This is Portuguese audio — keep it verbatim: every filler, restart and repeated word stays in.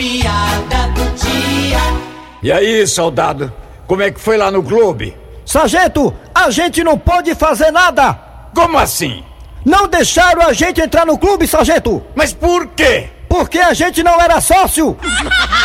piada do dia. E aí, soldado, como é que foi lá no clube? Sargento, a gente não pode fazer nada. Como assim? Não deixaram a gente entrar no clube, sargento. Mas por quê? Porque a gente não era sócio.